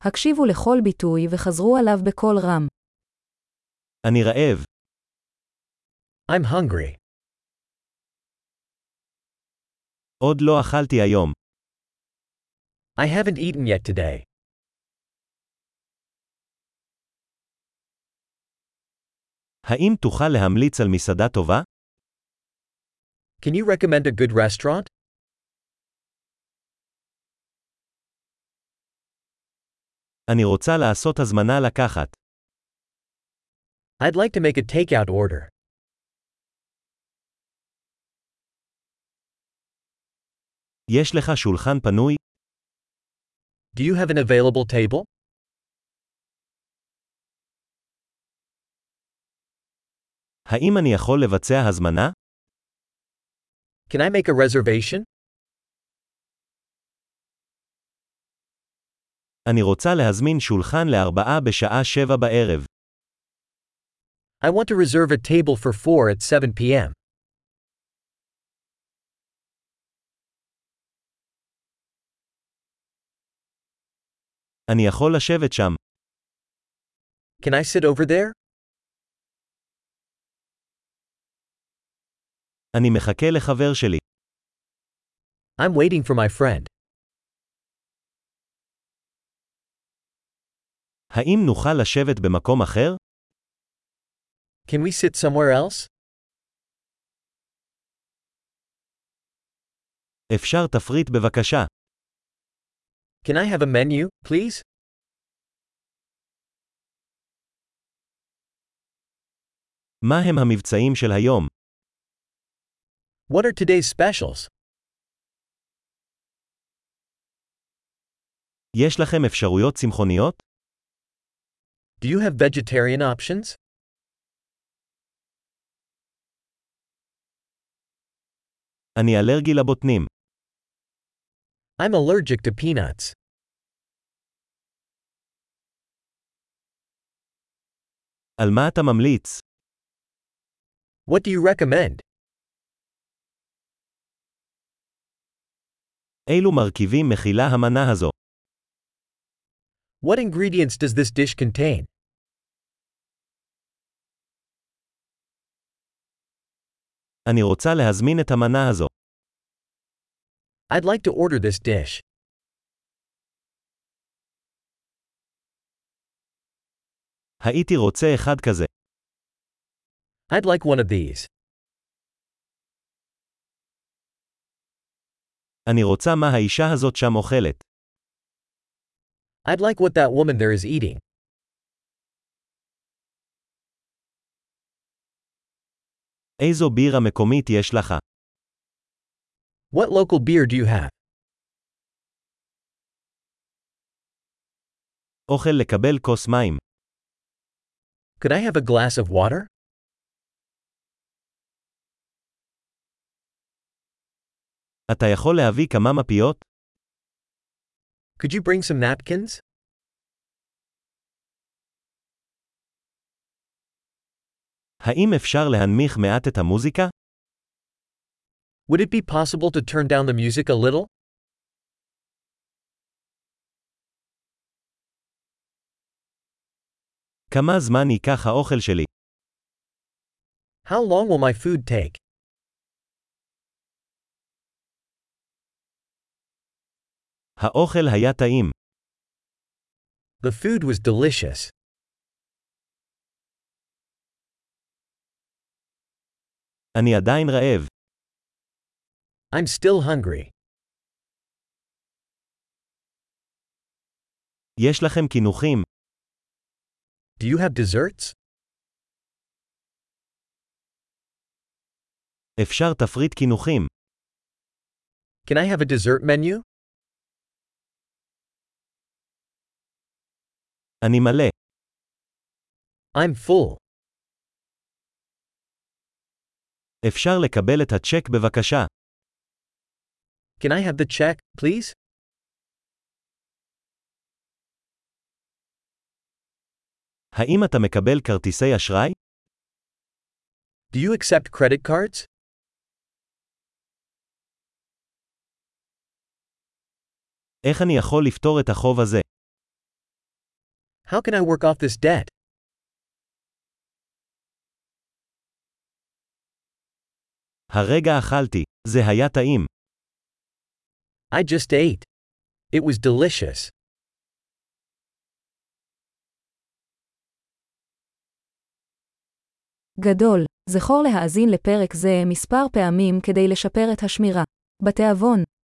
הקשיבו לכל ביטוי וחזרו עליו בקול רם. אני רעב. I'm hungry. עוד לא אכלתי היום. I haven't eaten yet today. האם תוכל להמליץ על מסעדה טובה? Can you recommend a good restaurant? אני רוצה לעשות הזמנה לקחת. I'd like to make a takeout order. יש לך שולחן פנוי? Do you have an available table? האם אני יכול לבצע הזמנה? Can I make a reservation? אני רוצה להזמין שולחן ל4 בשעה 7 בערב. I want to reserve a table for 4 at 7 p.m. אני יכול לשבת שם. Can I sit over there? אני מחכה לחבר שלי. I'm waiting for my friend. האם נוכל לשבת במקום אחר? Can we sit somewhere else? אפשר תפריט בבקשה. Can I have a menu, please? מה הם המבצעים של היום? What are today's specials? יש לכם אפשרויות צמחוניות? Do you have vegetarian options? אני אלרגי לבוטנים. I'm allergic to peanuts. על מה אתה ממליץ? What do you recommend? אילו מרכיבים מכילה המנה הזו? What ingredients does this dish contain? אני רוצה להזמין את המנה הזו. I'd like to order this dish. הייתי רוצה אחד כזה. I'd like one of these. אני רוצה מה האישה הזאת שם אוכלת. I'd like what that woman there is eating. איזו בירה מקומית יש לך? What local beer do you have? אוכל לקבל כוס מים. Could I have a glass of water? אתה יכול להביא כמה מפיות? Could you bring some napkins? האם אפשר להנמיך מעט את המוזיקה? Would it be possible to turn down the music a little? כמה זמן ייקח האוכל שלי? How long will my food take? האוכל היה טעים. The food was delicious. אני עדיין רעב. I'm still hungry. יש לכם קינוחים? Do you have desserts? אפשר תפריט קינוחים. Can I have a dessert menu? אני מלא. I'm full. אפשר לקבל את הצ'ק בבקשה. Can I have the check, please? האם אתה מקבל כרטיסי אשראי? Do you accept credit cards? איך אני יכול לפתור את החוב הזה? How can I work off this debt? הרגע אכלתי. זה היה טעים. I just ate. It was delicious. גדול. זכור להאזין לפרק זה מספר פעמים כדי לשפר את השמירה. בתיאבון.